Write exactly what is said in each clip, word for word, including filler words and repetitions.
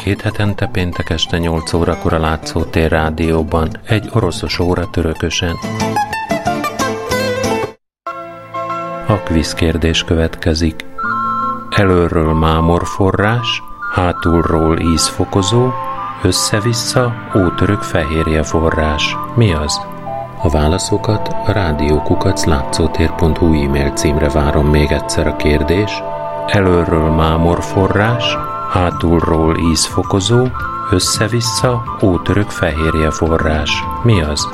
két hetente péntek este nyolc órakor a Látszótér Rádióban, egy oroszos óra törökösen. A kvízkérdés következik. Előről mámorforrás, hátulról ízfokozó, össze-vissza ótörök fehérje forrás. Mi az? A válaszokat a rádiókukac látszótér pont hu e-mail címre várom. Még egyszer a kérdés. Előről mámorforrás, hátulról ízfokozó, össze-vissza ótörök fehérje forrás. Mi az?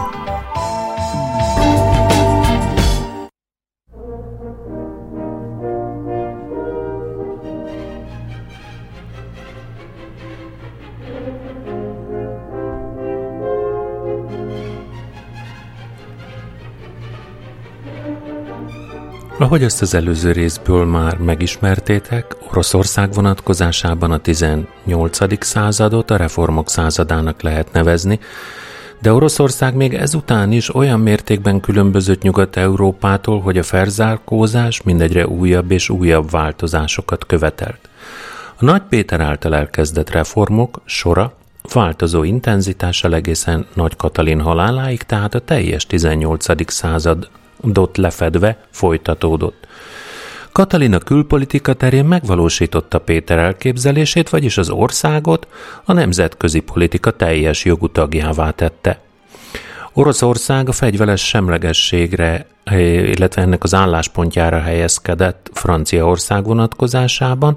Ahogy ezt az előző részből már megismertétek, Oroszország vonatkozásában a tizennyolcadik századot a reformok századának lehet nevezni, de Oroszország még ezután is olyan mértékben különbözött Nyugat-Európától, hogy a felzárkózás mindegyre újabb és újabb változásokat követelt. A Nagy Péter által elkezdett reformok sora változó intenzitással egészen Nagy Katalin haláláig, tehát a teljes tizennyolcadik század dot lefedve folytatódott. Katalin a külpolitika terén megvalósította Péter elképzelését, vagyis az országot a nemzetközi politika teljes jogú tagjává tette. Oroszország a fegyveres semlegességre, illetve ennek az álláspontjára helyezkedett Franciaország vonatkozásában,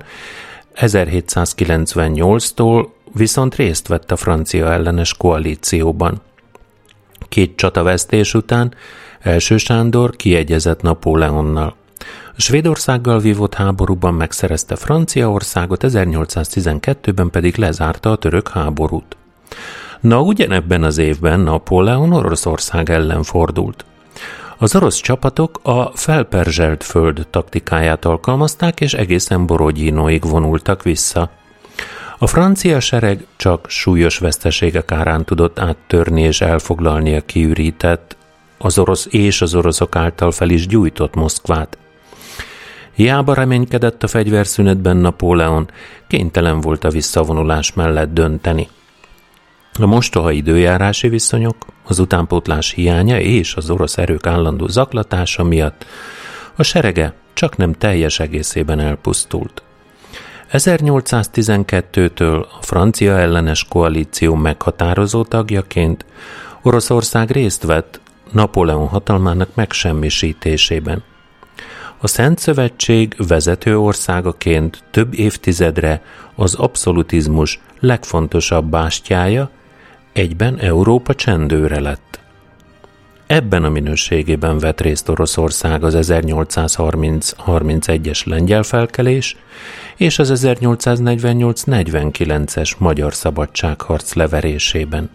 ezerhétszázkilencvennyolctól viszont részt vett a francia ellenes koalícióban. Két csatavesztés után Első Sándor kiegyezett Napóleonnal. A Svédországgal vívott háborúban megszerezte Franciaországot, ezernyolcszáztizenkettőben pedig lezárta a török háborút. Na, ugyanebben az évben Napóleon Oroszország ellen fordult. Az orosz csapatok a felperzselt föld taktikáját alkalmazták, és egészen Borodnyinóig vonultak vissza. A francia sereg csak súlyos veszteségek árán tudott áttörni és elfoglalni a kiürített, az orosz és az oroszok által fel is gyújtott Moszkvát. Hiába reménykedett a fegyverszünetben Napóleon, kénytelen volt a visszavonulás mellett dönteni. A mostoha időjárási viszonyok, az utánpótlás hiánya és az orosz erők állandó zaklatása miatt a serege csak nem teljes egészében elpusztult. ezernyolcszáztizenkettőtől a francia ellenes koalíció meghatározó tagjaként Oroszország részt vett Napóleon hatalmának megsemmisítésében. A Szent Szövetség vezető országaként több évtizedre az abszolutizmus legfontosabb bástyája, egyben Európa csendőre lett. Ebben a minőségében vett részt Oroszország az ezernyolcszázharminc-harmincegyes lengyel felkelés és az ezernyolcszáznegyvennyolc-negyvenkilences magyar szabadságharc leverésében.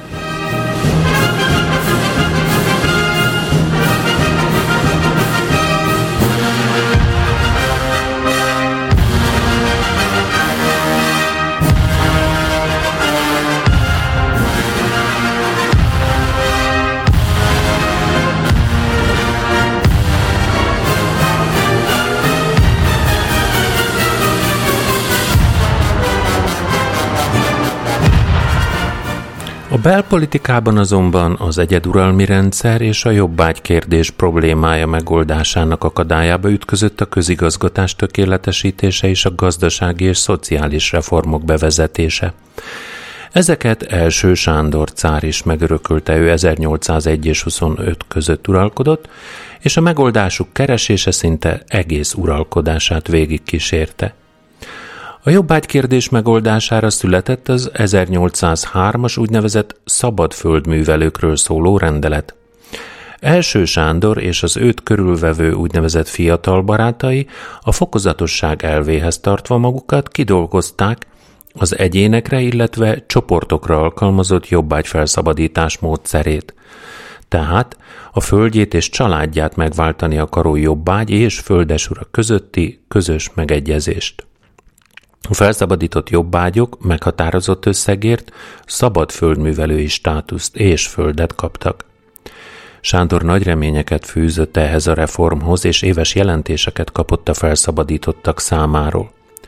A belpolitikában azonban az egyeduralmi rendszer és a jobbágykérdés problémája megoldásának akadályaba ütközött a közigazgatás tökéletesítése és a gazdasági és szociális reformok bevezetése. Ezeket Első Sándor cár is megörökölte, ő ezernyolcszázegy és huszonöt között uralkodott, és a megoldásuk keresése szinte egész uralkodását végigkísérte. A jobbágykérdés megoldására született az ezernyolcszázhármas úgynevezett szabad földművelőkről szóló rendelet. Első Sándor és az őt körülvevő úgynevezett fiatal barátai a fokozatosság elvéhez tartva magukat kidolgozták az egyénekre, illetve csoportokra alkalmazott jobbágyfelszabadítás módszerét. Tehát a földjét és családját megváltani akaró jobbágy és földesura közötti közös megegyezést. A felszabadított jobbágyok meghatározott összegért szabad földművelői státuszt és földet kaptak. Sándor nagy reményeket fűzött ehhez a reformhoz, és éves jelentéseket kapott a felszabadítottak számáról.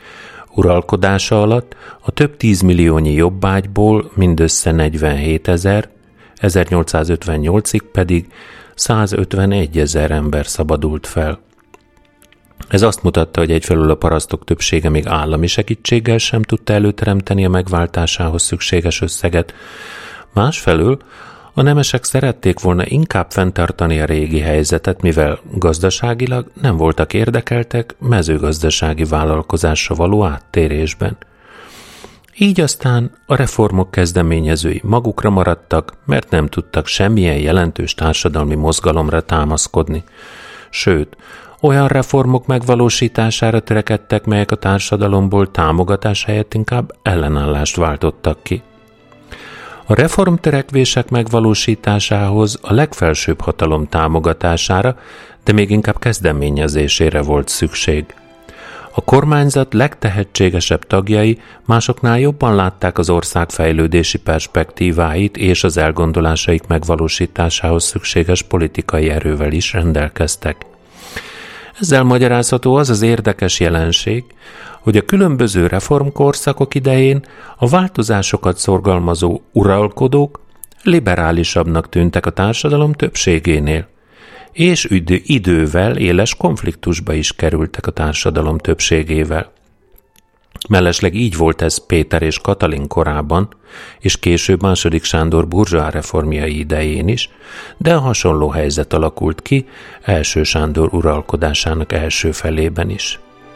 Uralkodása alatt a több tízmilliónyi jobbágyból mindössze negyvenhétezer, ezernyolcszázötvennyolcig pedig százötvenegyezer ember szabadult fel. Ez azt mutatta, hogy egyfelől a parasztok többsége még állami segítséggel sem tudta előteremteni a megváltásához szükséges összeget, másfelől a nemesek szerették volna inkább fenntartani a régi helyzetet, mivel gazdaságilag nem voltak érdekeltek mezőgazdasági vállalkozásra való áttérésben. Így aztán a reformok kezdeményezői magukra maradtak, mert nem tudtak semmilyen jelentős társadalmi mozgalomra támaszkodni. Sőt, olyan reformok megvalósítására törekedtek, melyek a társadalomból támogatás helyett inkább ellenállást váltottak ki. A reformtörekvések megvalósításához a legfelsőbb hatalom támogatására, de még inkább kezdeményezésére volt szükség. A kormányzat legtehetségesebb tagjai másoknál jobban látták az ország fejlődési perspektíváit, és az elgondolásaik megvalósításához szükséges politikai erővel is rendelkeztek. Ezzel magyarázható az az érdekes jelenség, hogy a különböző reformkorszakok idején a változásokat szorgalmazó uralkodók liberálisabbnak tűntek a társadalom többségénél, és idő, idővel éles konfliktusba is kerültek a társadalom többségével. Mellesleg így volt ez Péter és Katalin korában, és később második Sándor burzsóá reformjai idején is, de a hasonló helyzet alakult ki első Sándor uralkodásának első felében is.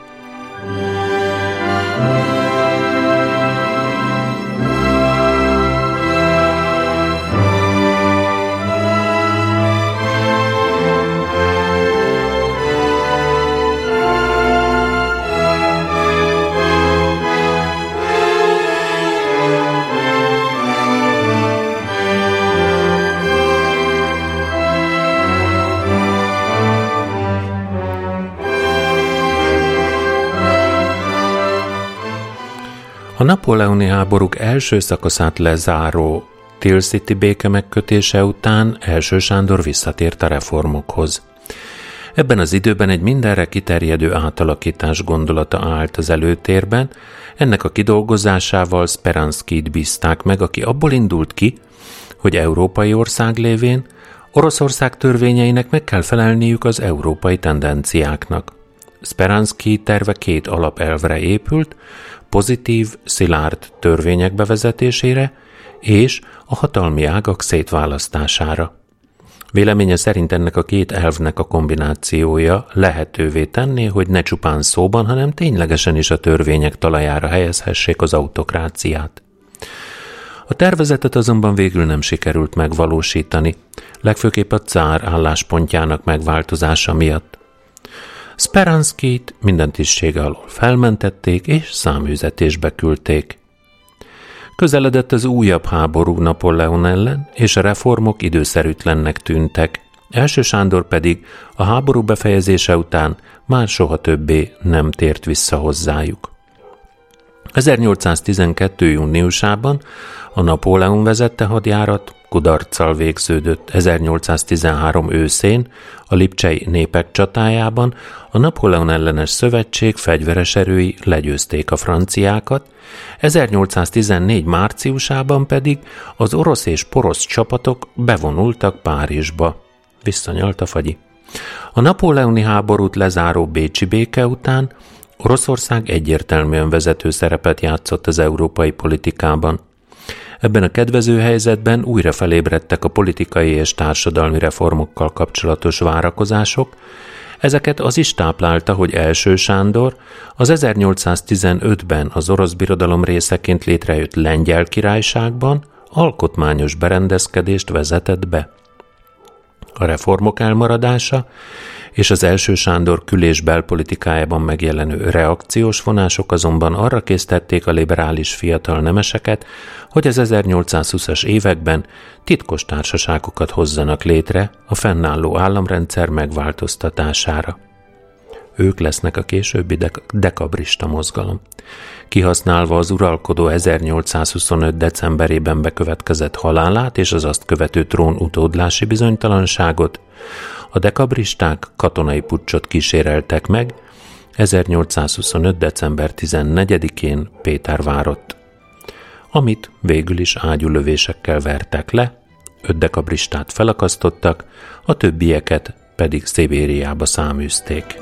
A napóleoni háborúk első szakaszát lezáró Tilsiti béke megkötése után első Sándor visszatért a reformokhoz. Ebben az időben egy mindenre kiterjedő átalakítás gondolata állt az előtérben, ennek a kidolgozásával Speranskijt bízták meg, aki abból indult ki, hogy európai ország lévén Oroszország törvényeinek meg kell felelniük az európai tendenciáknak. Speranskij terve két alapelvre épült, pozitív, szilárd törvények bevezetésére és a hatalmi ágak szétválasztására. Véleménye szerint ennek a két elvnek a kombinációja lehetővé tenné, hogy ne csupán szóban, hanem ténylegesen is a törvények talajára helyezhessék az autokráciát. A tervezetet azonban végül nem sikerült megvalósítani, legfőképp a cár álláspontjának megváltozása miatt. Speranskijt minden tisztsége alól felmentették és száműzetésbe küldték. Közeledett az újabb háború Napóleon ellen, és a reformok időszerűtlennek tűntek. Első Sándor pedig a háború befejezése után már soha többé nem tért vissza hozzájuk. ezernyolcszáztizenkettő. júniusában a Napóleon vezette hadjárat kudarccal végződött. ezernyolcszáztizenhárom. őszén a lipcsei népek csatájában a Napóleon ellenes szövetség fegyveres erői legyőzték a franciákat, ezernyolcszáztizennégy. márciusában pedig az orosz és porosz csapatok bevonultak Párizsba. Visszanyalt a fagyi. A napóleoni háborút lezáró bécsi béke után Oroszország egyértelműen vezető szerepet játszott az európai politikában. Ebben a kedvező helyzetben újra felébredtek a politikai és társadalmi reformokkal kapcsolatos várakozások. Ezeket az is táplálta, hogy első Sándor az ezernyolcszáztizenötben az orosz birodalom részeként létrejött Lengyel Királyságban alkotmányos berendezkedést vezetett be. A reformok elmaradása és az első Sándor kül- és belpolitikájában megjelenő reakciós vonások azonban arra késztették a liberális fiatal nemeseket, hogy az ezernyolcszázhúszas években titkos társaságokat hozzanak létre a fennálló államrendszer megváltoztatására. Ők lesznek a későbbi dek- dekabrista mozgalom. Kihasználva az uralkodó ezernyolcszázhuszonöt. decemberében bekövetkezett halálát és az azt követő trón utódlási bizonytalanságot, a dekabristák katonai puccsot kíséreltek meg, ezernyolcszázhuszonöt. december tizennegyedikén Pétervárott, amit végül is ágyúlövésekkel vertek le, öt dekabristát felakasztottak, a többieket pedig Szibériába száműzték.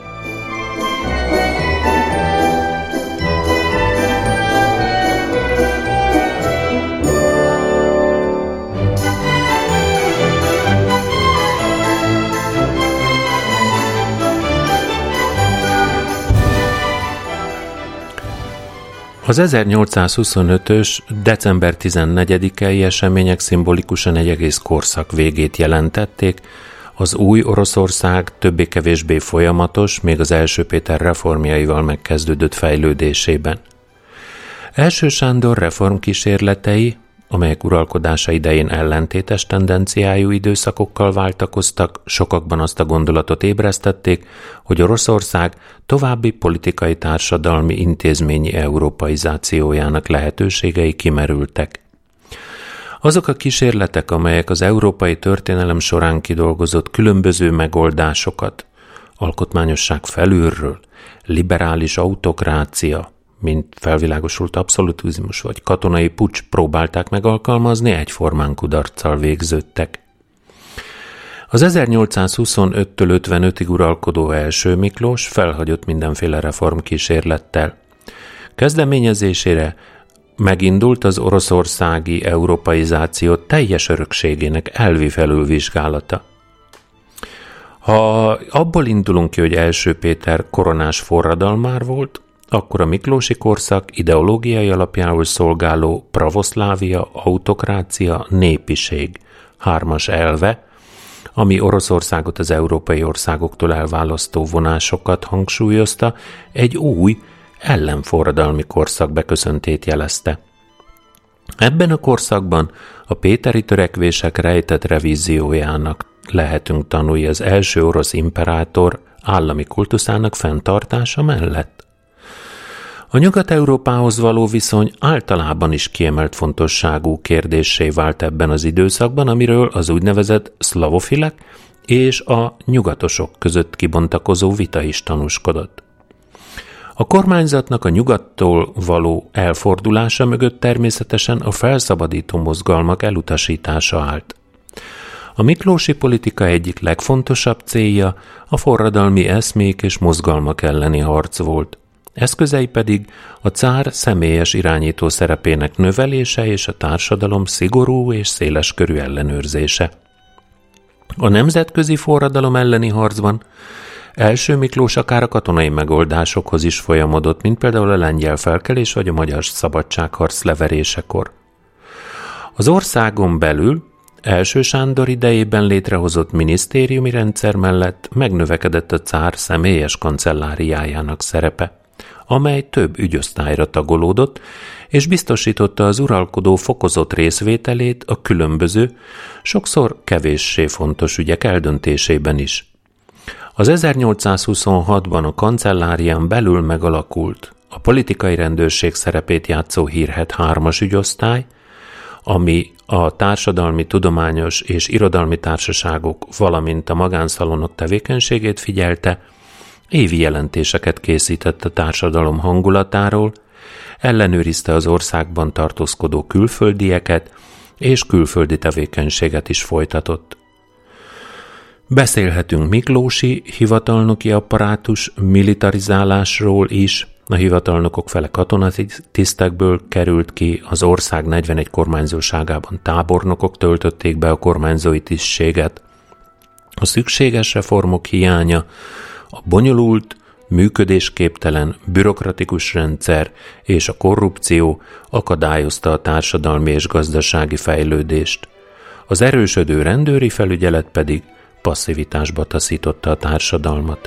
Az ezernyolcszázhuszonötös. december tizennegyedikei események szimbolikusan egy egész korszak végét jelentették, az új Oroszország többé-kevésbé folyamatos, még az első Péter reformjaival megkezdődött fejlődésében. Első Sándor reformkísérletei, amelyek uralkodása idején ellentétes tendenciájú időszakokkal váltakoztak, sokakban azt a gondolatot ébresztették, hogy Oroszország további politikai, társadalmi, intézményi európaizációjának lehetőségei kimerültek. Azok a kísérletek, amelyek az európai történelem során kidolgozott különböző megoldásokat, alkotmányosság felülről, liberális autokrácia, mint felvilágosult abszolutizmus vagy katonai puccs próbálták megalkalmazni, egyformán kudarccal végződtek. Az ezernyolcszázhuszonöttől ötvenötig uralkodó első Miklós felhagyott mindenféle reformkísérlettel. Kezdeményezésére megindult az oroszországi európaizáció teljes örökségének elvi felülvizsgálata. Ha abból indulunk ki, hogy első Péter koronás forradalmár volt, akkor a miklósi korszak ideológiai alapjául szolgáló pravoszlávia, autokrácia, népiség hármas elve, ami Oroszországot az európai országoktól elválasztó vonásokat hangsúlyozta, egy új, ellenforradalmi korszak beköszöntét jelezte. Ebben a korszakban a péteri törekvések rejtett revíziójának lehetünk tanulni az első orosz imperátor állami kultuszának fenntartása mellett. A Nyugat-Európához való viszony általában is kiemelt fontosságú kérdéssé vált ebben az időszakban, amiről az úgynevezett szlavofilek és a nyugatosok között kibontakozó vita is tanúskodott. A kormányzatnak a nyugattól való elfordulása mögött természetesen a felszabadító mozgalmak elutasítása állt. A miklósi politika egyik legfontosabb célja a forradalmi eszmék és mozgalmak elleni harc volt. Eszközei pedig a cár személyes irányító szerepének növelése és a társadalom szigorú és széleskörű ellenőrzése. A nemzetközi forradalom elleni harcban első Miklós akár a katonai megoldásokhoz is folyamodott, mint például a lengyel felkelés vagy a magyar szabadságharc leverésekor. Az országon belül első Sándor idejében létrehozott minisztériumi rendszer mellett megnövekedett a cár személyes kancelláriájának szerepe, amely több ügyosztályra tagolódott, és biztosította az uralkodó fokozott részvételét a különböző, sokszor kevéssé fontos ügyek eldöntésében is. Az ezernyolcszázhuszonhatban a kancellárián belül megalakult a politikai rendőrség szerepét játszó hírhedt hármas ügyosztály, ami a társadalmi, tudományos és irodalmi társaságok, valamint a magánszalonok tevékenységét figyelte, évi jelentéseket készített a társadalom hangulatáról, ellenőrizte az országban tartózkodó külföldieket, és külföldi tevékenységet is folytatott. Beszélhetünk miklósi hivatalnoki apparátus militarizálásról is, a hivatalnokok fele katonatisztekből került ki, az ország negyvenegy kormányzóságában tábornokok töltötték be a kormányzói tisztséget. A szükséges reformok hiánya, a bonyolult, működésképtelen, bürokratikus rendszer és a korrupció akadályozta a társadalmi és gazdasági fejlődést. Az erősödő rendőri felügyelet pedig passzivitásba taszította a társadalmat.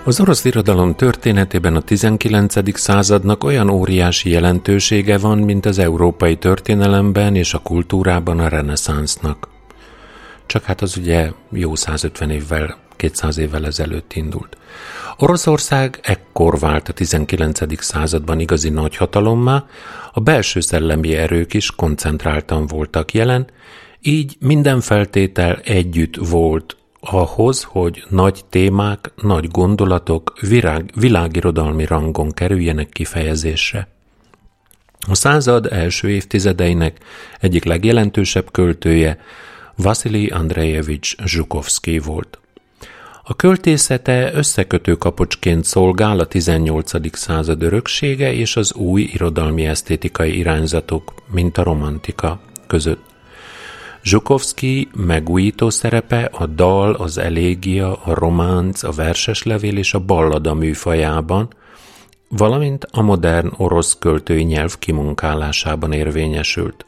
Az orosz irodalom történetében a tizenkilencedik századnak olyan óriási jelentősége van, mint az európai történelemben és a kultúrában a reneszánsznak. Csak hát az ugye jó százötven évvel, kétszáz évvel ezelőtt indult. Oroszország ekkor vált a tizenkilencedik században igazi nagyhatalommá, a belső szellemi erők is koncentráltan voltak jelen, így minden feltétel együtt volt ahhoz, hogy nagy témák, nagy gondolatok virág, világirodalmi rangon kerüljenek kifejezésre. A század első évtizedeinek egyik legjelentősebb költője Vasilij Andrejevics Zsukovszkij volt. A költészete összekötő kapocsként szolgál a tizennyolcadik század öröksége és az új irodalmi esztétikai irányzatok, mint a romantika között. Zsukovszkij megújító szerepe a dal, az elégia, a románc, a verseslevél és a ballada műfajában, valamint a modern orosz költői nyelv kimunkálásában érvényesült.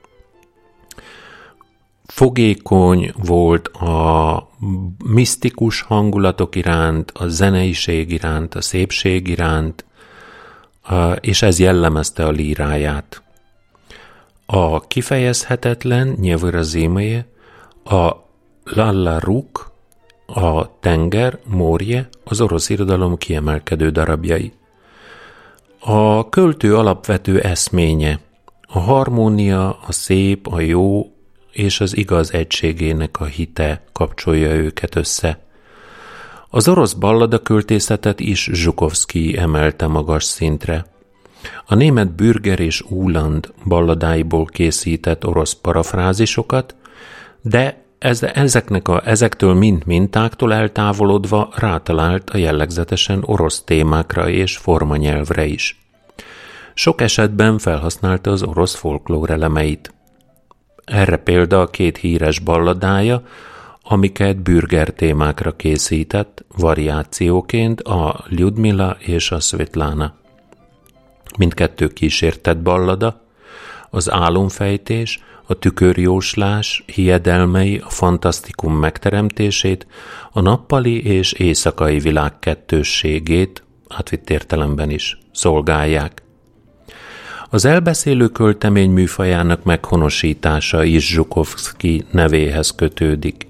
Fogékony volt a misztikus hangulatok iránt, a zeneiség iránt, a szépség iránt, és ez jellemezte a líráját. A kifejezhetetlen nyelvőrazémje, a Lalla Ruk, a tenger, Morje az orosz irodalom kiemelkedő darabjai. A költő alapvető eszménye, a harmónia, a szép, a jó és az igaz egységének a hite kapcsolja őket össze. Az orosz ballada költészetet is Zsukovszkij emelte magas szintre. A német Bürger és Uhland balladáiból készített orosz parafrázisokat, de ez, ezeknek a, ezektől mint mintáktól eltávolodva rátalált a jellegzetesen orosz témákra és formanyelvre is. Sok esetben felhasználta az orosz folklór elemeit. Erre példa a két híres balladája, amiket Bürger témákra készített, variációként a Lyudmila és a Svetlana. Mindkettő kísértett ballada, az álomfejtés, a tükörjóslás hiedelmei, a fantasztikum megteremtését, a nappali és éjszakai világ kettősségét, átvitt értelemben is, szolgálják. Az elbeszélő költemény műfajának meghonosítása is Zsukovszkij nevéhez kötődik.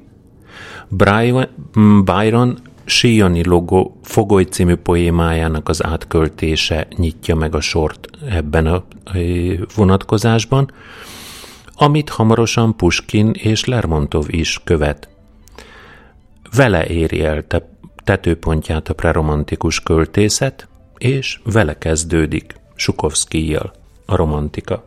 Byron Síjani logó Fogoly című poémájának az átköltése nyitja meg a sort ebben a vonatkozásban, amit hamarosan Puskin és Lermontov is követ. Vele éri el te- tetőpontját a preromantikus költészet, és vele kezdődik Zsukovszkijjal a romantika.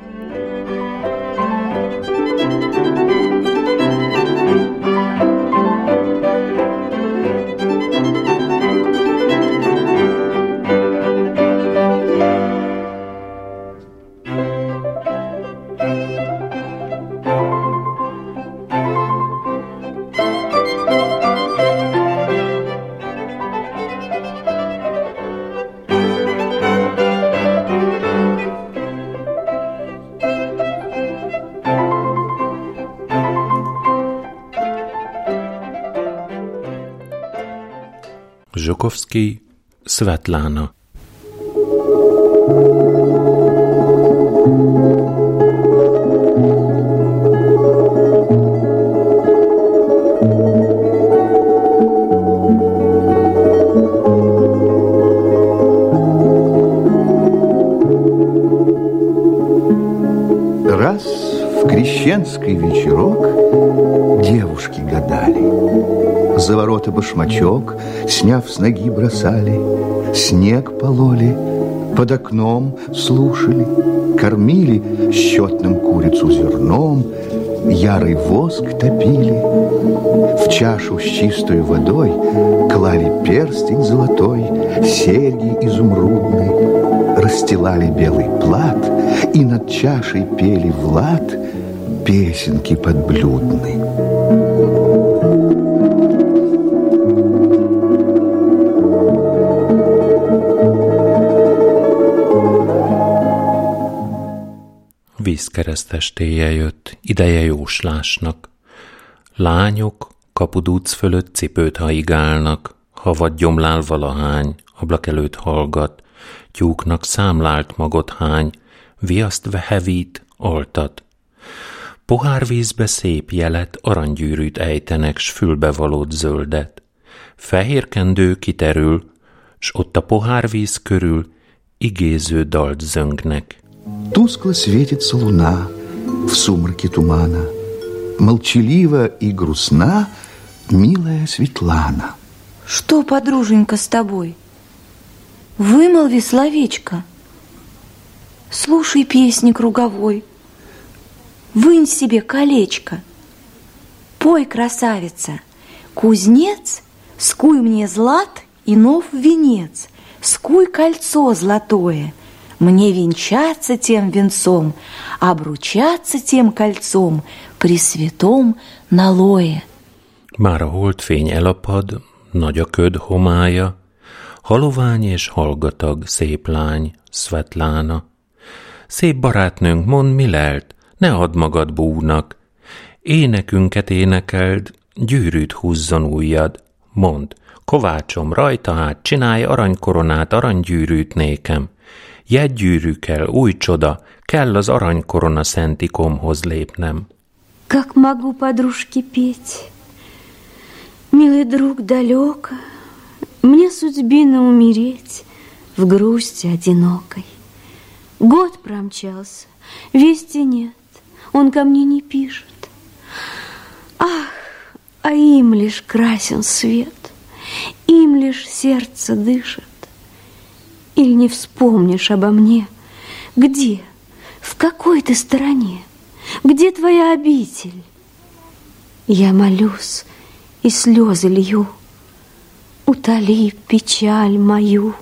Zsukovszkij, Svetlana. Раз в крещенский вечерок девушки гадали, за ворота башмачок, сняв с ноги, бросали, снег пололи, под окном слушали, кормили счетным курицу зерном, ярый воск топили, в чашу с чистой водой клали перстень золотой, серьги изумрудные, расстилали белый плат и над чашей пели в лад песенки подблюдные. Vízkeresztestéje jött, ideje jóslásnak. Lányok kapudúc fölött cipőt haigálnak, havad gyomlál valahány, ablak előtt hallgat, tyúknak számlált magot hány, viaszt hevít, altat. Pohárvízbe szép jelet, aranygyűrűt ejtenek, s fülbevalót zöldet. Fehér kendő kiterül, s ott a pohárvíz körül igéző dalt zöngnek. Тускло светится луна в сумраке тумана. Молчалива и грустна милая Светлана. Что, подруженька, с тобой? Вымолви словечко. Слушай песни круговой. Вынь себе колечко. Пой, красавица, кузнец, скуй мне злат и нов венец, скуй кольцо золотое, мне венчаться тем венцом, обручаться тем кольцом при святом налое. Már a holdfény elapad, nagy a köd homája, halovány és hallgatag, szép lány, Szvetlána. Szép barátnőnk, mondd, mi lelt, ne add magad búnak, énekünket énekeld, gyűrűt húzzon ujjad, mondd, kovácsom, rajta hát, csinálj aranykoronát, aranygyűrűt nékem, jegygyűrű kell, új csoda, kell az aranykorona szent ikomhoz lépnem. Как могу, подружки, петь? Милый друг, далеко, мне судьбина умереть в грусти одинокой. Год промчался, вести нет, он ко мне не пишет. Ах, а им лишь красен свет, им лишь сердце дышит. Или не вспомнишь обо мне? Где? В какой ты стороне? Где твоя обитель? Я молюсь и слезы лью. Утоли печаль мою,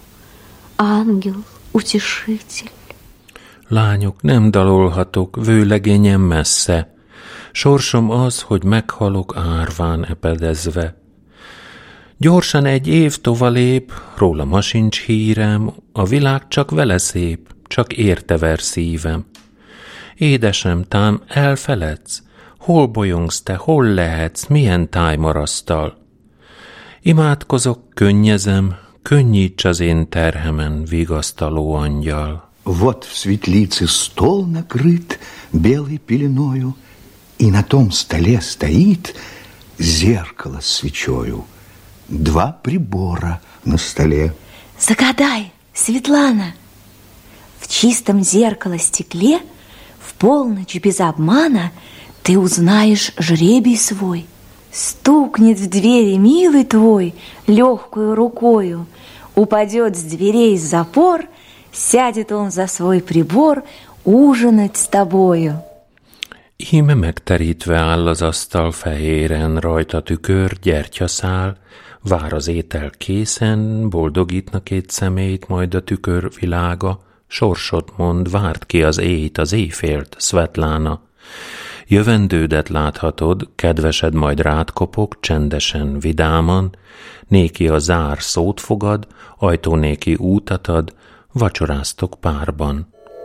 ангел-утешитель. Lányok, nem dalolhatok, vőlegényem messze. Sorsom az, hogy meghalok árván epedezve. Gyorsan egy év tovalép, róla ma sincs hírem, a világ csak vele szép, csak érte ver szívem. Édesem, tám elfeledsz, hol bolyongsz te, hol lehetsz, milyen tájmarasztal? Imádkozok, könnyezem, könnyíts az én terhemen, vigasztaló angyal. Вот в светлице стол накрыт белой пеленою, и на том столе стоит зеркало с свечою. Два прибора на столе. Загадай, Светлана, в чистом зеркало-стекле в полночь без обмана ты узнаешь жребий свой. Стукнет в двери милый твой легкую рукою, упадет с дверей запор, сядет он за свой прибор ужинать с тобою. Íme megterítve áll az asztal fehéren, rajta tükör, gyertyaszál, vár az étel készen, boldogítna két szemét, majd a tükör világa, sorsot mond, várt ki az éjt, az éjfélt, Szvetlána. Jövendődet láthatod, kedvesed majd rád kopog, csendesen, vidáman, néki a zár szót fogad, ajtó néki útat ad, vacsoráztok párban.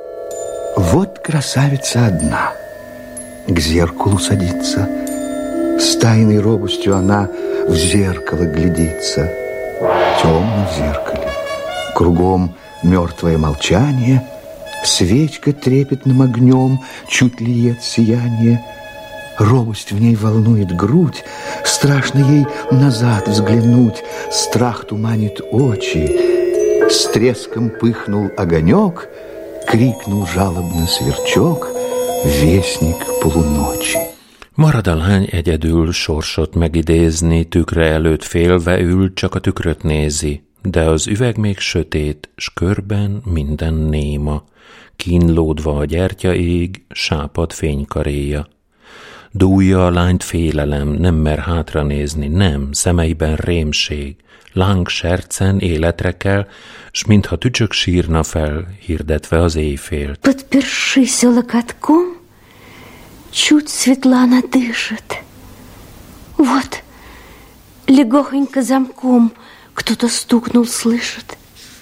Вот красавица одна, к зеркалу садится, с тайной робостью она в зеркало глядится. Темно в зеркале, кругом мертвое молчание, свечка трепетным огнем чуть льет сияние. Робость в ней волнует грудь, страшно ей назад взглянуть, страх туманит очи. С треском пыхнул огонек, крикнул жалобно сверчок, vésnik polunocsi. Marad a lány egyedül sorsot megidézni, tükre előtt félve ül, csak a tükröt nézi, de az üveg még sötét, s körben minden néma, kínlódva a gyertya ég, sápad fénykaréja. Dúlja a lányt félelem, nem mer hátra nézni, nem, szemeiben rémség, láng sercen életre kell, s mintha tücsök sírna fel, hirdetve az éjfélt. Подпершись локотком, чуть Светлана дышит. Вот, легохонько замком кто-то стукнул, слышит.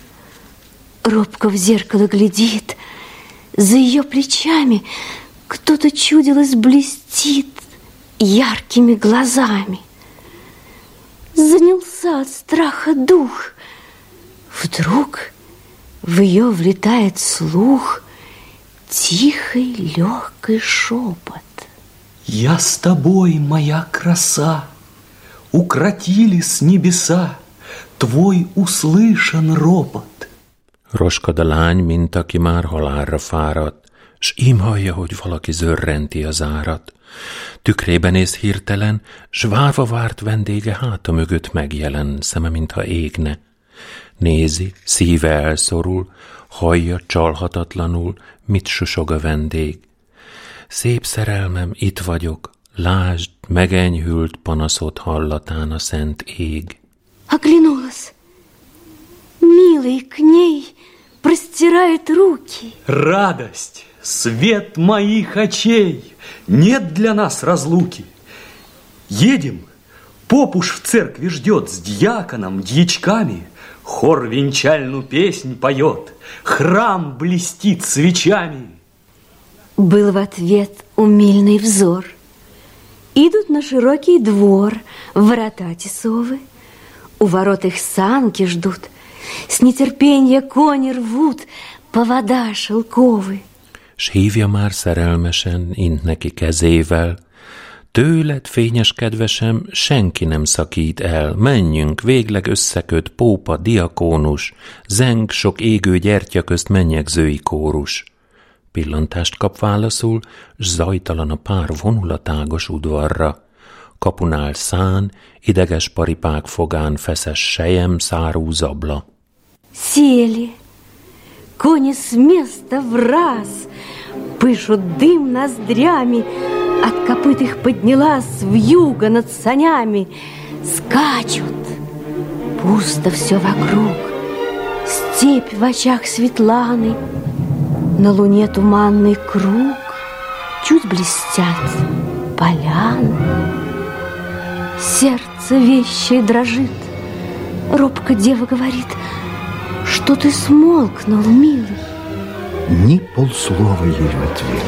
Робко в зеркало глядит, за ее плечами кто-то, чудилось, блестит яркими глазами. Занялся сжался от страха дух. Вдруг в ее влетает слух тихий, легкий шепот. Я с тобой, моя краса, укротили с небеса твой услышан ropot. Roskad a lány, mint aki már halálra fáradt, s ím hallja, hogy valaki zörrenti az árat. Tükrébe néz hirtelen, s várva várt vendége háta mögött megjelen, szeme mintha égne. Nézi, szíve elszorul, hallja csalhatatlanul, mit susog a vendég. Szép szerelmem, itt vagyok, lásd, megenyhült panaszod hallatán a szent ég. Оглянулась. Милый к ней простирает руки. Радость, свет моих очей, нет для нас разлуки. Едем, поп уж в церкви ждет с дьяконом, дьячками. Хор венчальную песнь поет, храм блестит свечами. Был в ответ умильный взор. Идут на широкий двор, ворота тесовы. У ворот их санки ждут, с нетерпенья кони rvút, повода шелковы. S hívja már szerelmesen, int neki kezével. Tőled, fényes kedvesem, senki nem szakít el. Menjünk, végleg összeköt pópa, diakónus, zeng sok égő gyertya közt mennyegzői kórus. Pillantást kap válaszul, s zajtalan a pár vonul a tágos udvarra. Kapunál szán, ideges paripák fogán feszes sejem szárú zabla. Сели, кони с места враз, пышут дым ноздрями, от копыт их поднялась вьюга над санями. Скачут, пусто все вокруг, степь в очах Светланы, на луне туманный круг, чуть блестят поляны. Сердце вещей дрожит, робко дева говорит: что ты смолкнул, милый? Ни полслова ей в ответ.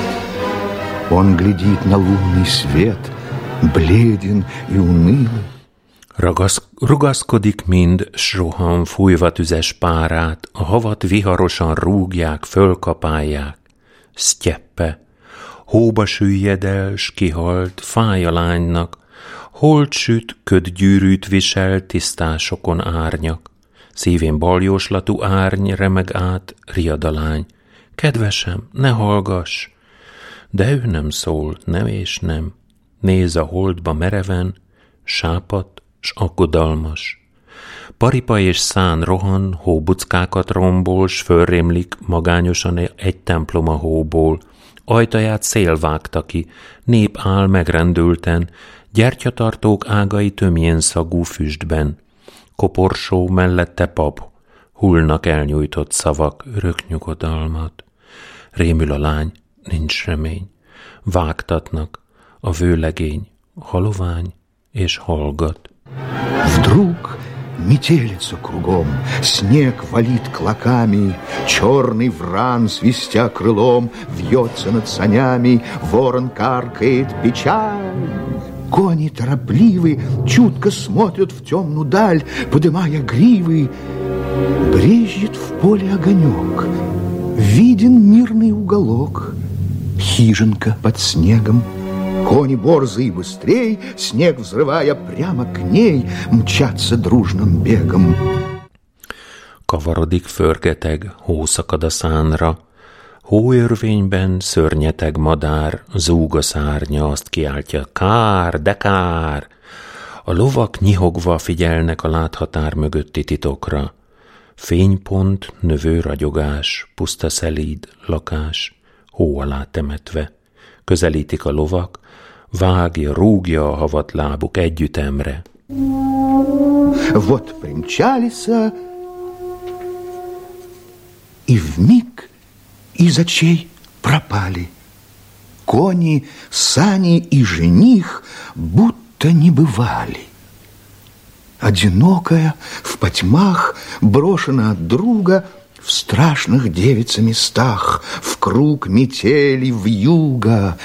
Он глядит на лунный свет, бледен и унылый. Ragasz, rugaszkodik mind, s rohan fújva tüzes párát, a havat viharosan rúgják, fölkapálják. Sztyeppe, hóba süllyed el, s kihalt, fáj a lánynak, holt süt, ködgyűrűt visel, tisztásokon árnyak. Szívén baljóslatú árny remeg át, riad a lány. Kedvesem, ne hallgass! De ő nem szól, nem és nem. Néz a holdba mereven, sápadt s aggodalmas. Paripa és szán rohan, hóbuckákat rombol, s fölrémlik magányosan egy templom a hóból. Ajtaját szél vágta ki, nép áll megrendülten, gyertyatartók ágai tömjén szagú füstben. Koporsó mellette pap, hullnak elnyújtott szavak, örök nyugodalmat. Rémül a lány, nincs remény. Vágtatnak, a vőlegény, halovány és hallgat. Вдруг метелица кругом, снег валит клоками, черный вран, свистя крылом, вьется над санями, ворон каркает печаль. Кони торопливы, чутко смотрят в темную даль, подымая гривы. Брезжит в поле огонек, виден мирный уголок, хижинка под снегом. Кони борзые быстрей, снег взрывая прямо к ней, мчатся дружным бегом. Kavarodik, förgeteg, hószakad a szánra. Hóörvényben szörnyeteg madár, zúg a szárnya, azt kiáltja: kár, de kár! A lovak nyihogva figyelnek a láthatár mögötti titokra. Fénypont, növő ragyogás, puszta szelíd, lakás, hó alá temetve. Közelítik a lovak, vágja, rúgja a havat lábuk együttemre. Вот примчались, и вмиг из очей пропали. Кони, сани и жених будто не бывали. Одинокая, в потьмах, брошена от друга, в страшных девица местах, в круг метели вьюга,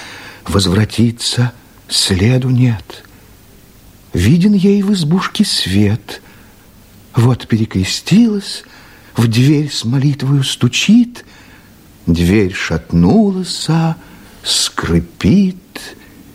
возвратиться следу нет. Виден ей в избушке свет, Вот перекрестилась, в дверь с молитвою стучит, дверь шатнулась, скрипит,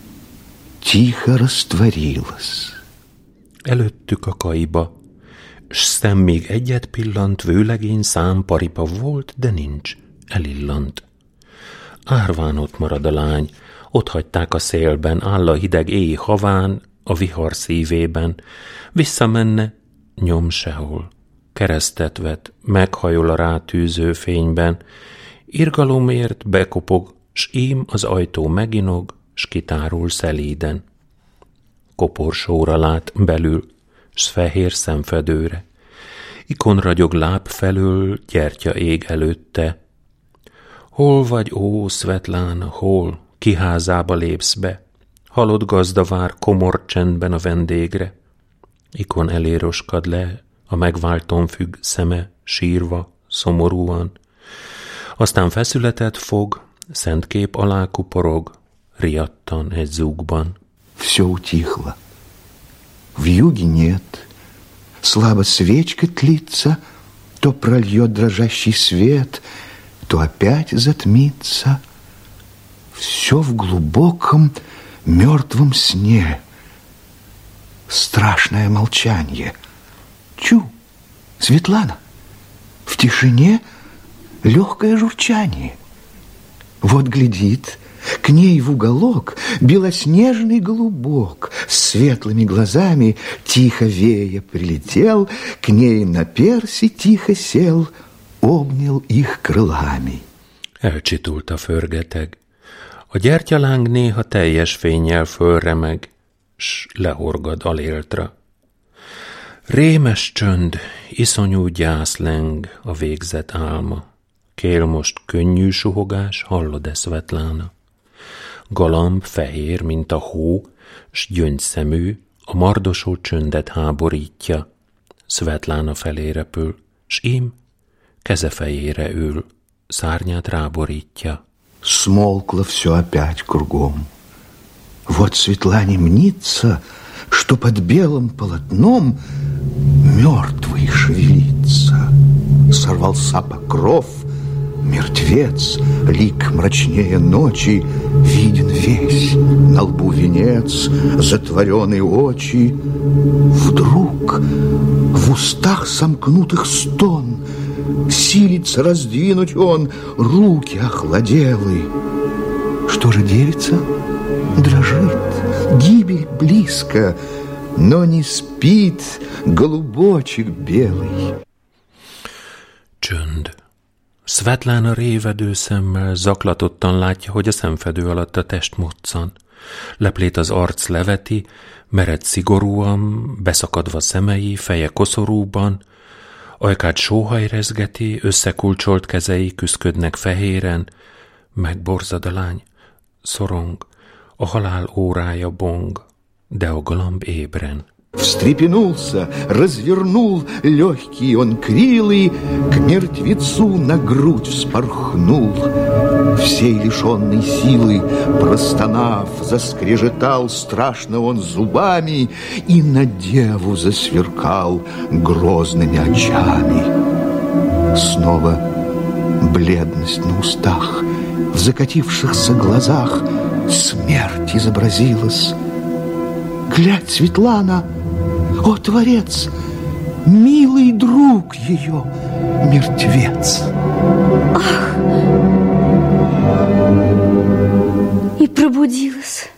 тихо rastvarилась. Előttük a kaiba, s szem még egyet pillant, vőlegény szám, paripa volt, de nincs, elillant. Árván ott marad a lány, ott hagyták a szélben, áll a hideg éj haván, a vihar szívében, visszamenne, nyom sehol. Keresztet vet, meghajol a rátűző fényben, irgalomért bekopog, s ím az ajtó meginog, s kitárul szelíden. Koporsóra lát belül, s fehér szemfedőre. Ikon ragyog láb felől, gyertya ég előtte. Hol vagy, ó, Szvetlána, hol? Ki házába lépsz be? Halott gazda vár komor csendben a vendégre. Ikon elé roskad le, a megválton függ szeme, sírva, szomorúan. Aztán feszületet fog, szent kép alá kuporog, riadtan egy zúgban. Все утихло. Вьюги нет. Слабо свечка тлится, то прольет дрожащий свет, то опять затмится. Все в глубоком мертвом сне. Страшное молчанье. Чу, Светлана, в тишине легкое журчание. Вот глядит, к ней в уголок белоснежный голубок с светлыми глазами, тихо вея, прилетел, к ней на перси тихо сел, обнял их крылами. Elcsitult a förgeteg. A gyertyaláng néha teljes fénnyel fölremeg, s lehorgad aléltra. Rémes csönd, iszonyú gyász leng a végzett álma. Kél most könnyű suhogás, hallod-e, Szvetlána? Galamb fehér, mint a hó, s gyöngyszemű, a mardosó csöndet háborítja. Szvetlána felé repül, s ím keze fejére ül, szárnyát ráborítja. Смолкло все опять кругом. Вот Светлане мнится, что под белым полотном мертвый шевелится. Сорвался покров, мертвец, лик мрачнее ночи, виден весь, на лбу венец, затворенные очи. Вдруг в устах сомкнутых стон, силится раздвинуть он руки охладелые. Что же девица? Дрожит, гибель близко, но не спит голубочек белый. Csönd. Szvetlána révedő szemmel zaklatottan látja, hogy a szemfedő alatt a test moccan. Leplét az arc leveti, mered szigorúan, beszakadva szemei, feje koszorúban, ajkát sóhaj rezgeti, összekulcsolt kezei küszködnek fehéren, megborzad a lány, szorong, a halál órája bong, de a galamb ébren. Встрепенулся, развернул легкий он крилы, к мертвецу на грудь вспорхнул. Всей лишенной силы, простонав, заскрежетал страшно он зубами и на деву засверкал грозными очами. Снова бледность на устах, в закатившихся глазах смерть изобразилась. Глядь, Светлана, о, Творец, милый друг ее, мертвец. Ах! И pробудилась.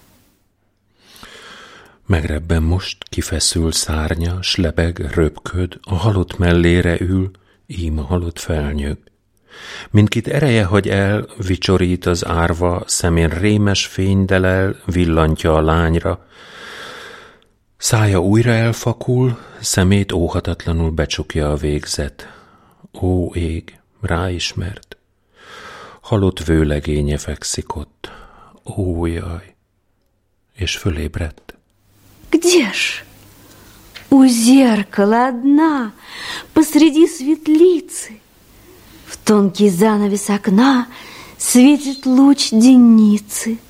Megrebben most, kifeszül szárnya, s lebeg, röpköd, a halott mellére ül, ím a halott felnyög. Mindkit ereje hagy el, vicsorít az árva, szemén rémes fény delel, villantja a lányra. Szája újra elfakul, szemét óhatatlanul becsukja a végzet. Ó, ég, ráismert. Halott vőlegénye fekszik ott. Ó, jaj! És fölébredt. Где ж? У зеркала одна, посреди светлицы. В тонкий занавес окна светит луч денницы.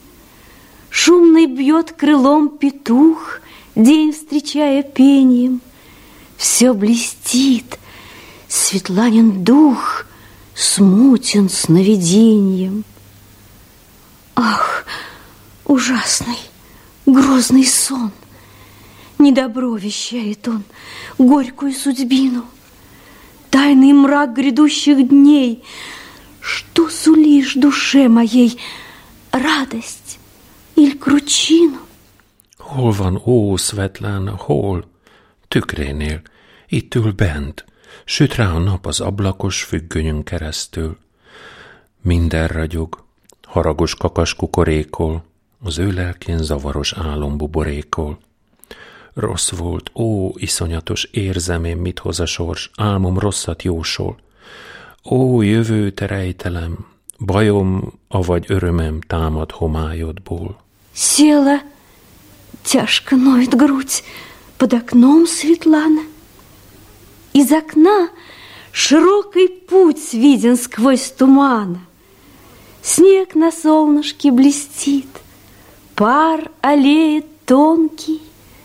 Шумный бьет крылом петух, день встречая пением. все блестит. Светланин дух смутен сновиденьем. Ах, ужасный, грозный сон! Недобро вещает он, горькую судьбину, тайный мрак грядущих дней. Что сулишь душе моей, радость или кручину? Hol van, ó, Svetlana, hol? Tükrénél, itt ül bent, süt rá a nap az ablakos függönyön keresztül. Minden ragyog, haragos kakas kukorékol, az ő lelkén zavaros álom buborékol. Rossz volt, ó, iszonyatos, érzem én, mit hoz a sors, álmom rosszat jósol. Ó, jövő te rejtelem, bajom, avagy örömem támad homályodból. Села, тяжко ноет грудь, под окном Светлана. Из окна широкий путь виден сквозь тумана. Снег на солнышке блестит, пар аллеет тонкий.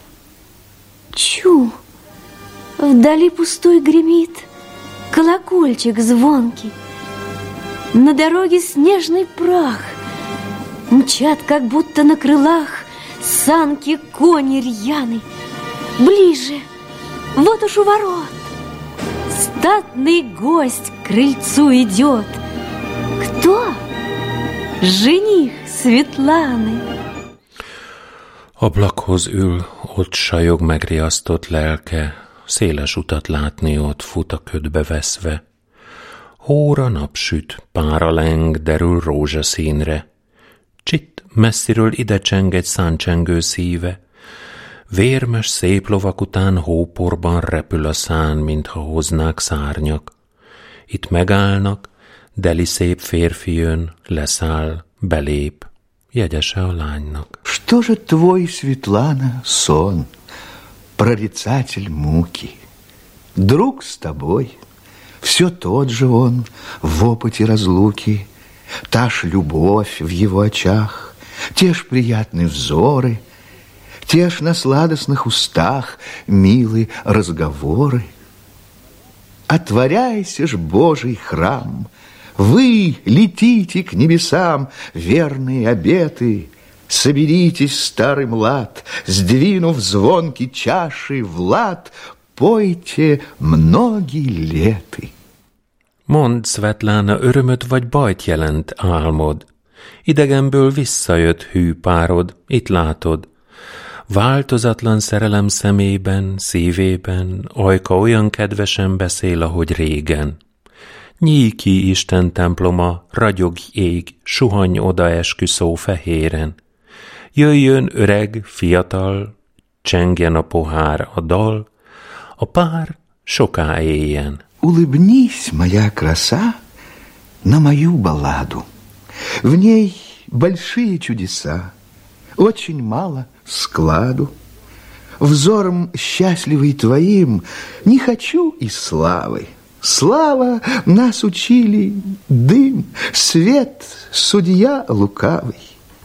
Чу, вдали пустой гремит колокольчик звонкий. На дороге снежный прах, мчат, как будто на крылах, санки кони рьяны. Ближе, вот уж у ворот статный гость к крыльцу идет. Кто? Жених Светланы. Ablakhoz ül, ott sajog megriasztott lelke, széles utat látni ott fut a ködbe veszve. Hóra napsüt, pára leng, derül rózsaszínre. Csitt, messziről ide cseng egy száncsengő szíve. Vérmes szép lovak után hóporban repül a szán, mintha hoznák szárnyak. Itt megállnak, deli szép férfi jön, leszáll, belép, jegyese a lánynak. Что же твой, Светлана, сон, прорицатель муки? Друг с тобой, все тот же он в опыте разлуки, та ж любовь в его очах, те ж приятные взоры, те ж на сладостных устах милые разговоры. Отворяйся ж, Божий храм, вы летите к небесам, верные обеты. Соберитесь, старый млад, сдвинув звонки чаши в лад, pojte mnogi léty. Mondd, Svetlana, örömöt vagy bajt jelent álmod. Idegenből visszajött hű párod, itt látod. Változatlan szerelem szemében, szívében, ajka olyan kedvesen beszél, ahogy régen. Nyíj ki Isten temploma, ragyog ég, suhanj oda esküszó fehéren. Jöjjön öreg, fiatal, csengjen a pohár, a dal, a pár soká éljen. Улыбнись, моя краса, на мою балладу. В ней большие чудеса, очень мало складу. Взором счастливый твоим не хочу и славы. Слава нас учили, дым, свет, судья лукавый.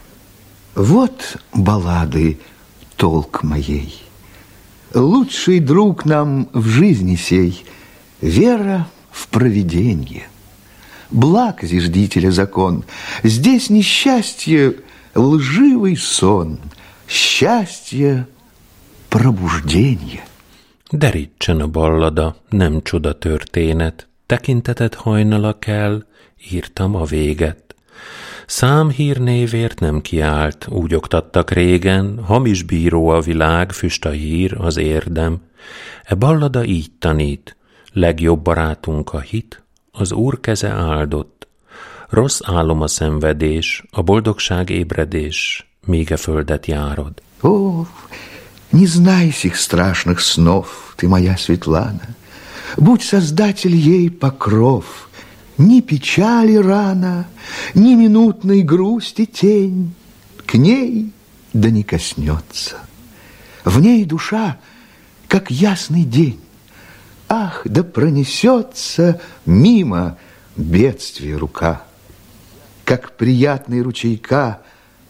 Вот баллады толк моей. Лучший друг нам в жизни сей — вера в провиденье. Благ зиждителя закон, здесь несчастье — лживый сон, счастье — pробуждение. Derítsen a ballada, nem csoda történet, tekinteted hajnala kell, írtam a véget. Számhírnévért nem kiált, úgy oktattak régen, hamis bíró a világ, füst a hír, az érdem. E ballada így tanít, legjobb barátunk a hit, az Úr keze áldott. Rossz álom a szenvedés, a boldogság ébredés, míg e földet járod. О, не знай сих страшных снов, ты моя Светлана. Будь создатель ей покров. Ни печали рана, ни минутной грусти тень к ней да не коснется. В ней душа, как ясный день. Ах, да пронесется мимо бедствия рука. Как приятный ручейка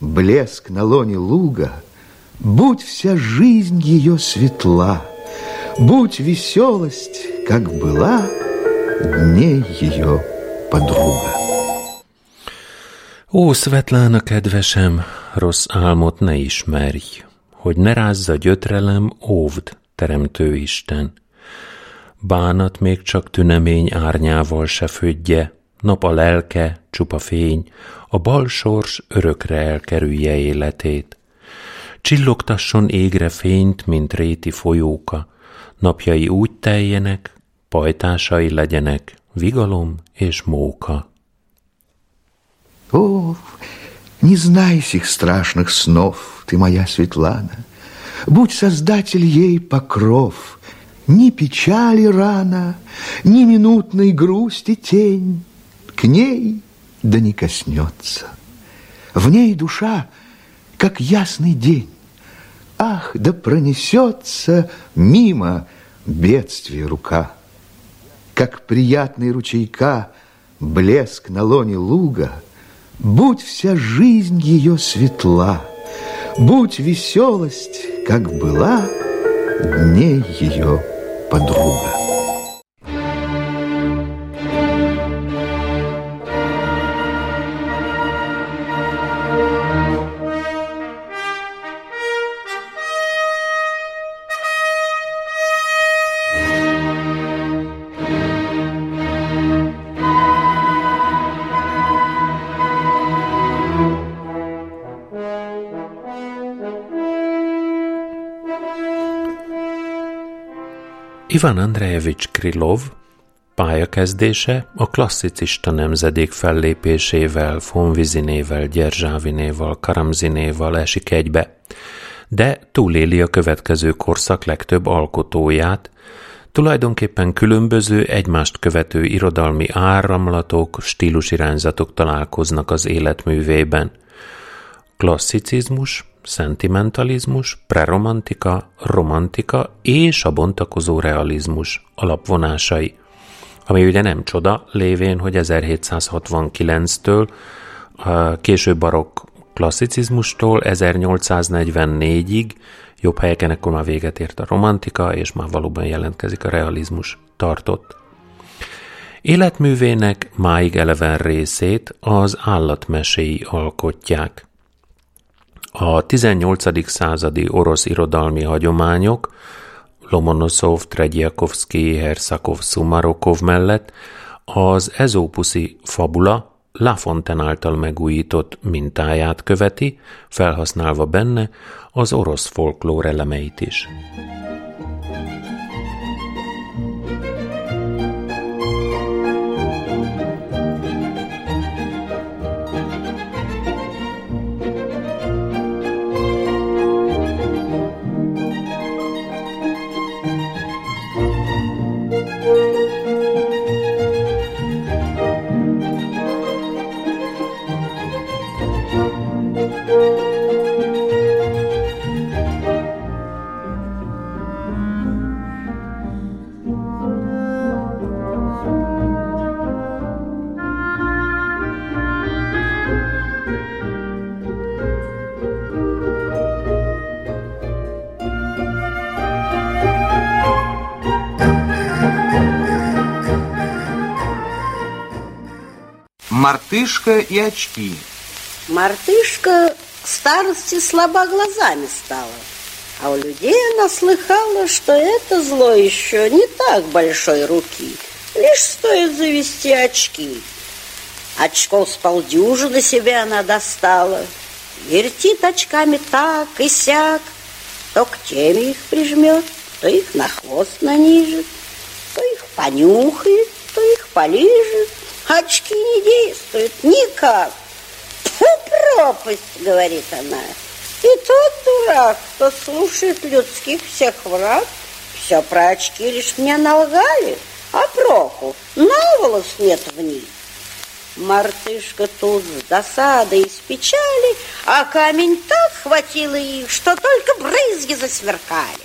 блеск на лоне луга, будь вся жизнь ее светла, Будь веселость, как была дней ее подруga. Ó, Szvetlána kedvesem, rossz álmot ne ismerj, hogy ne rázza gyötrelem, óvd, teremtő Isten. Bánat még csak tünemény árnyával se födje, nap a lelke, csupa fény, a bal sors örökre elkerülje életét. Csillogtasson égre fényt, mint réti folyóka, napjai úgy teljenek, pajtásai legyenek, vigalom és móka. О, не знай сих страшных снов, ты моя Светлана, будь создатель ей покров, ни печали рана, ни минутной грусти тень к ней да не коснется. В ней душа, как ясный день, ах, да пронесется мимо бедствия рука. Как приятный ручейка блеск на лоне луга, будь вся жизнь ее светла, будь веселость, как была дней ее подруга. Ivan Andrejevics Krylov pályakezdése a klasszicista nemzedék fellépésével, Fonvizinével, Gyerzsávinéval, Karamzinéval esik egybe, de túléli a következő korszak legtöbb alkotóját, tulajdonképpen különböző, egymást követő irodalmi áramlatok, stílusirányzatok találkoznak az életművében. Klasszicizmus, szentimentalizmus, preromantika, romantika és a bontakozó realizmus alapvonásai, ami ugye nem csoda, lévén, hogy ezerhétszázhatvankilenctől, a késő barokk klasszicizmustól ezernyolcszáznegyvennégyig, jobb helyeken ekkor már véget ért a romantika, és már valóban jelentkezik a realizmus tartott. Életművének máig eleven részét az állatmeséi alkotják. A tizennyolcadik századi orosz irodalmi hagyományok Lomonoszov, Tredjakovszkij, Hersakov, Szumarokov mellett az ezópuszi fabula La Fontaine által megújított mintáját követi, felhasználva benne az orosz folklór elemeit is. Мартышка и очки. Мартышка к старости слаба глазами стала, а у людей она слыхала, что это зло еще не так большой руки, лишь стоит завести очки. Очков с полдюжины себе она достала, вертит очками так и сяк, то к теме их прижмет, то их на хвост нанижет, то их понюхает, то их полижет. Очки не действуют никак. Фу, пропасть, говорит она. И тот дурак, кто слушает людских всех враг, все про очки лишь мне налгали, а проку на волос нет в них. Мартышка тут с досадой и с печали, а камень так хватило их, что только брызги засверкали.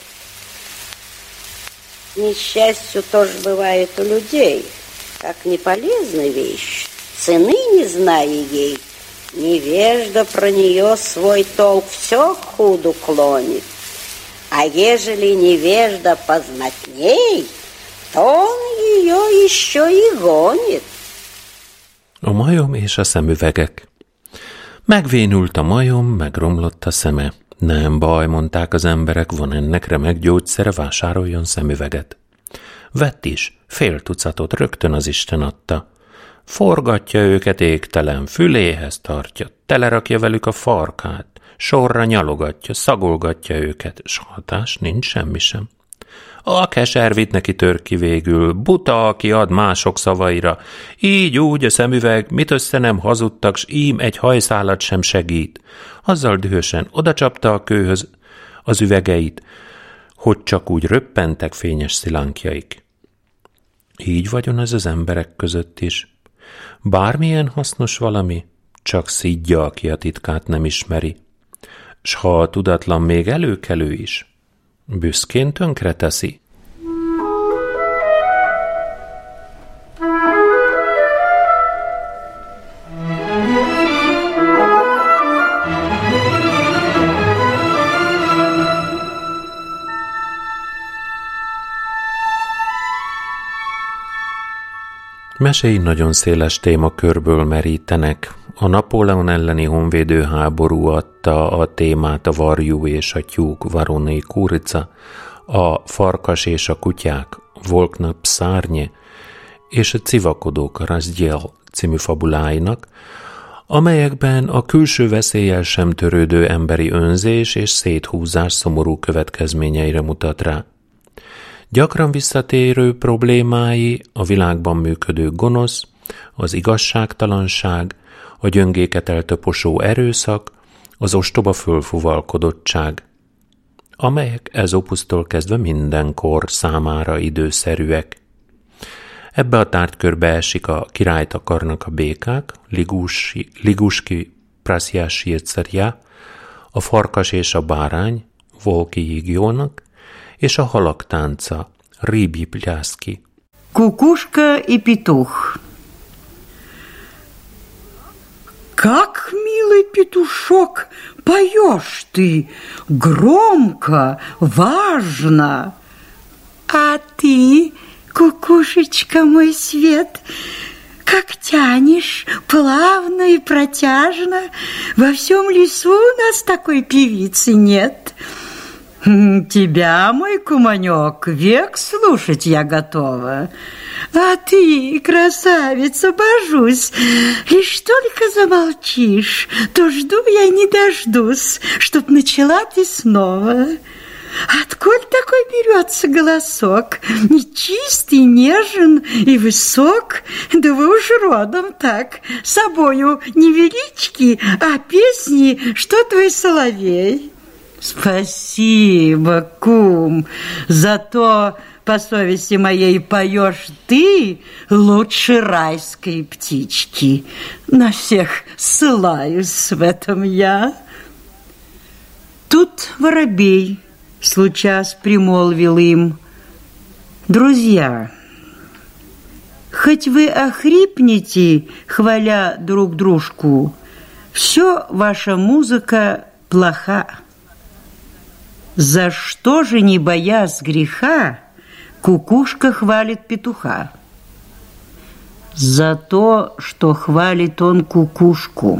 К несчастью тоже бывает у людей. Как неполезная вещь, цены не зная ей, невежда про нее свой толк все к худу клонит. А ежели невежда познатней, то он ее еще и гонит. A majom és a szemüvegek. Megvénült a majom, megromlott a szeme. Nem baj, mondták az emberek, van ennek remek gyógyszere, vásároljon szemüveget. Vett is, fél tucatot rögtön az Isten adta. Forgatja őket égtelen, füléhez tartja, telerakja velük a farkát, sorra nyalogatja, szagolgatja őket, s hatás nincs semmi sem. A keservit neki tör ki végül, buta, aki ad mások szavaira. Így úgy a szemüveg, mit össze nem hazudtak, s ím egy hajszálat sem segít. Azzal dühösen odacsapta a kőhöz az üvegeit, hogy csak úgy röppentek fényes szilánkjaik. Így vagyon ez az emberek között is. Bármilyen hasznos valami, csak szidja, aki a titkát nem ismeri. S ha a tudatlan még előkelő is, büszkén tönkre teszi. Meséi nagyon széles témakörből merítenek. A Napóleon elleni honvédő háború adta a témát, a varjú és a tyúk, Varonei Kurica, a farkas és a kutyák, Volkna Pszárnye, és a civakodók, Razdjel című fabuláinak, amelyekben a külső veszéllyel sem törődő emberi önzés és széthúzás szomorú következményeire mutat rá. Gyakran visszatérő problémái a világban működő gonosz, az igazságtalanság, a gyöngéket eltöposó erőszak, az ostoba fölfuvalkodottság, amelyek Ezopusztól kezdve mindenkor számára időszerűek. Ebbe a tárgykörbe esik a Királyt akarnak a békák, Liguski, Liguski Prasjásírcerja, a Farkas és a bárány, Volki Higjónak, és a Halak tánca, Рыбий пляски. Кукушка и петух. Как, милый петушок, поешь ты, громко, важно. А ты, кукушечка мой свет, как тянешь плавно и протяжно. Во всем лесу у нас такой певицы нет. Тебя, мой куманек, век слушать я готова. А ты, красавица, божусь, лишь только замолчишь, то жду я не дождусь, чтоб начала ты снова. Откуда такой берется голосок? Чистый, нежен и высок, да вы уж родом так, собою невелички, а песни, что твой соловей. Спасибо, кум, зато по совести моей поешь ты лучше райской птички. На всех ссылаюсь в этом я. Тут воробей случас примолвил им: друзья, хоть вы охрипнете, хваля друг дружку, все ваша музыка плоха. За что же, не боясь греха, кукушка хвалит петуха? За то, что хвалит он кукушку.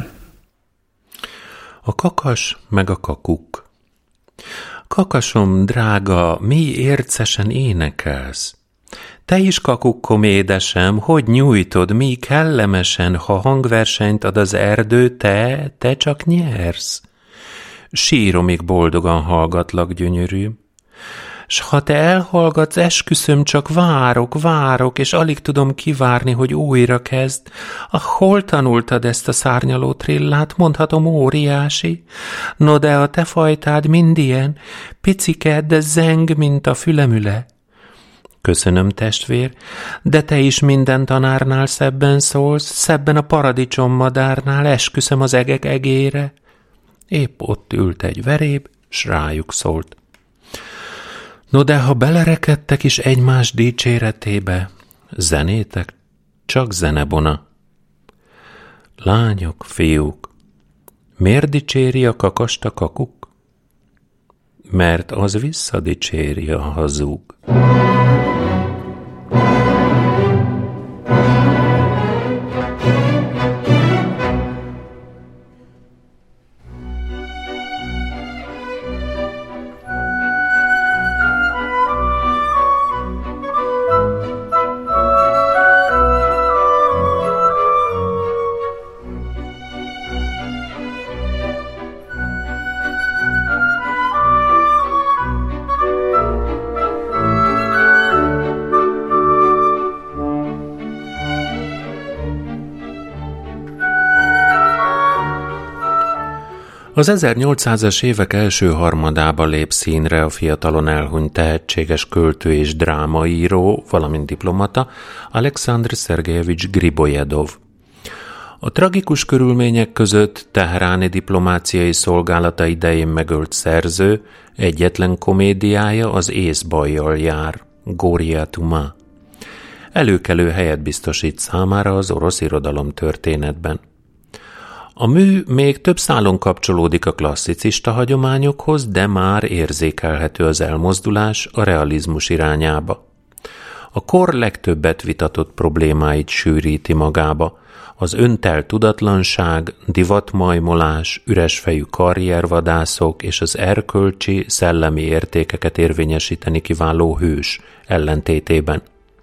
A kakas meg a kakuk. Kakasom, drága, mi ércesen énekelsz. Te is, kakukkom édesem, hogy nyújtod, mi kellemesen, ha hangversenyt ad az erdő, te, te csak nyersz. Síromig boldogan hallgatlak, gyönyörűm. S ha te elhallgatsz, esküszöm, csak várok, várok, és alig tudom kivárni, hogy újra kezd. Ah, hol tanultad ezt a szárnyaló trillát? Mondhatom, óriási. No, de a te fajtád mind ilyen, picike, de zeng, mint a fülemüle. Köszönöm, testvér, de te is minden tanárnál szebben szólsz, szebben a paradicsommadárnál, esküszöm az egek egére. Épp ott ült egy veréb, s rájuk szólt. No, de ha belerekedtek is egymás dicséretébe, zenétek csak zenebona. Lányok, fiúk, miért dicséri a kakast a kakuk? mert az visszadicséri a hazug. Az ezernyolcszázas évek első harmadába lép színre a fiatalon elhunyt tehetséges költő és drámaíró, valamint diplomata, Alekszandr Szergejevics Gribojedov. A tragikus körülmények között teheráni diplomáciai szolgálata idején megölt szerző egyetlen komédiája az észbajjal jár, Goria Tuma. Előkelő helyet biztosít számára az orosz irodalom történetben. A mű még több szálon kapcsolódik a klasszicista hagyományokhoz, de már érzékelhető az elmozdulás a realizmus irányába. A kor legtöbbet vitatott problémáit sűríti magába, az öntelt tudatlanság, divatmajmolás, üresfejű karriervadászok és az erkölcsi, szellemi értékeket érvényesíteni kiváló hős ellentétében.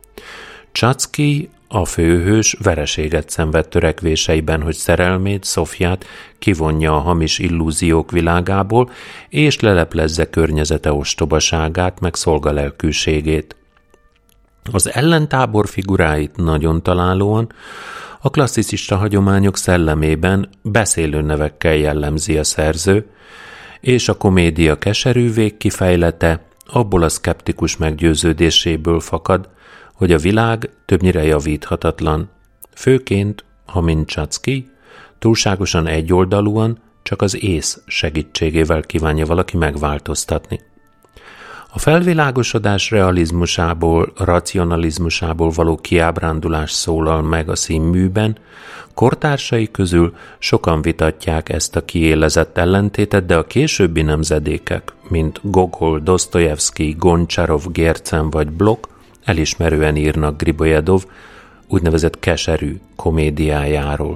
Czacki, a főhős vereséget szenved törekvéseiben, hogy szerelmét, Szofját kivonja a hamis illúziók világából, és leleplezze környezete ostobaságát, meg szolgalelkűségét. Az ellentábor figuráit nagyon találóan a klasszicista hagyományok szellemében beszélő nevekkel jellemzi a szerző, és a komédia keserű végkifejlete abból a szkeptikus meggyőződéséből fakad, hogy a világ többnyire javíthatatlan, főként, ha mint Czacki, túlságosan egyoldalúan csak az ész segítségével kívánja valaki megváltoztatni. A felvilágosodás realizmusából, racionalizmusából való kiábrándulás szólal meg a színműben, kortársai közül sokan vitatják ezt a kiélezett ellentétet, de a későbbi nemzedékek, mint Gogol, Dosztojevszkij, Goncsarov, Gércen vagy Blok, elismerően írnak Gribojedov úgynevezett keserű komédiájáról.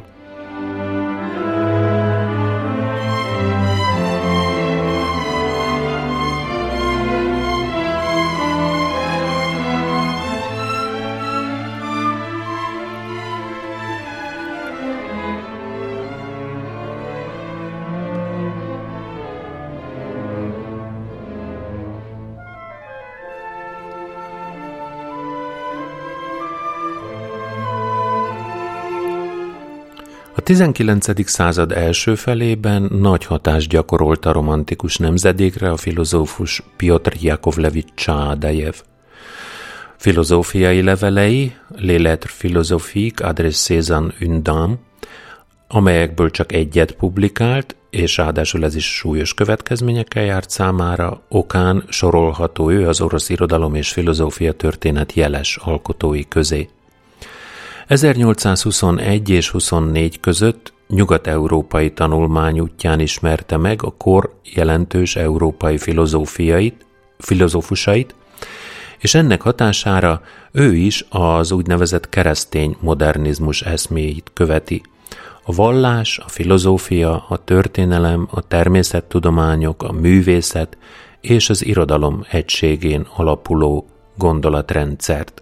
A tizenkilencedik század első felében nagy hatást gyakorolt a romantikus nemzedékre a filozófus Pjotr Jakovlevics Csádajev. Filozófiai levelei, Les lettres philosophiques adressées à une dame, amelyekből csak egyet publikált, és ráadásul ez is súlyos következményekkel járt számára, okán sorolható ő az orosz irodalom és filozófia történet jeles alkotói közé. ezernyolcszázhuszonegy és huszonnégy között nyugat-európai tanulmányútján ismerte meg a kor jelentős európai filozófiait, filozófusait, és ennek hatására ő is az úgynevezett keresztény modernizmus eszméit követi. A vallás, a filozófia, a történelem, a természettudományok, a művészet és az irodalom egységén alapuló gondolatrendszert.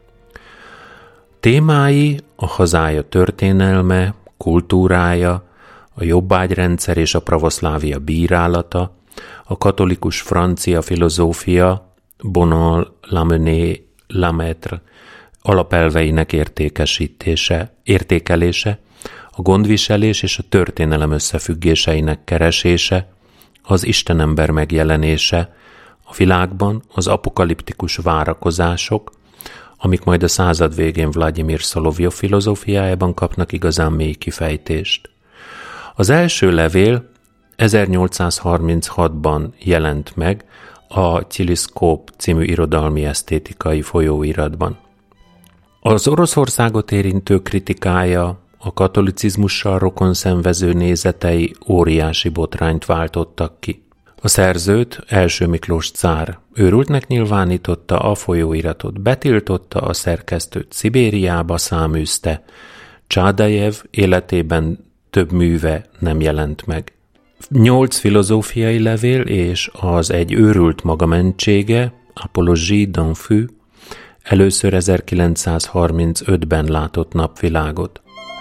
Témái a hazája történelme, kultúrája, a jobbágyrendszer és a pravoszlávia bírálata, a katolikus francia filozófia, Bonal, Lamennais, Lemaitre alapelveinek értékesítése, értékelése, a gondviselés és a történelem összefüggéseinek keresése, az Istenember megjelenése, a világban az apokaliptikus várakozások, amik majd a század végén Vladimir Szolovjov filozófiájában kapnak igazán mély kifejtést. Az első levél ezernyolcszázharminchatban jelent meg a Tiliszkóp című irodalmi esztétikai folyóiratban. Az Oroszországot érintő kritikája, a katolicizmussal rokon szenvező nézetei óriási botrányt váltottak ki. A szerzőt Első Miklós cár őrültnek nyilvánította, a folyóiratot betiltotta, a szerkesztőt Szibériába száműzte. Csádajev életében több műve nem jelent meg. Nyolc filozófiai levél és az Egy őrült magamentsége, Apologie d'un fou, először ezerkilencszázharmincötben látott napvilágot.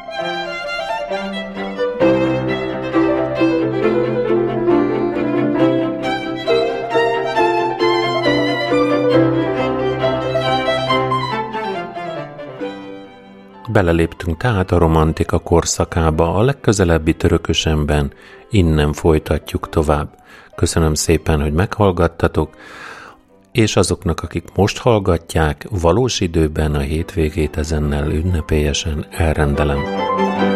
Beleléptünk tehát a romantika korszakába, a legközelebbi Törökösenben, innen folytatjuk tovább. Köszönöm szépen, hogy meghallgattatok, és azoknak, akik most hallgatják, valós időben a hétvégét ezennel ünnepélyesen elrendelem.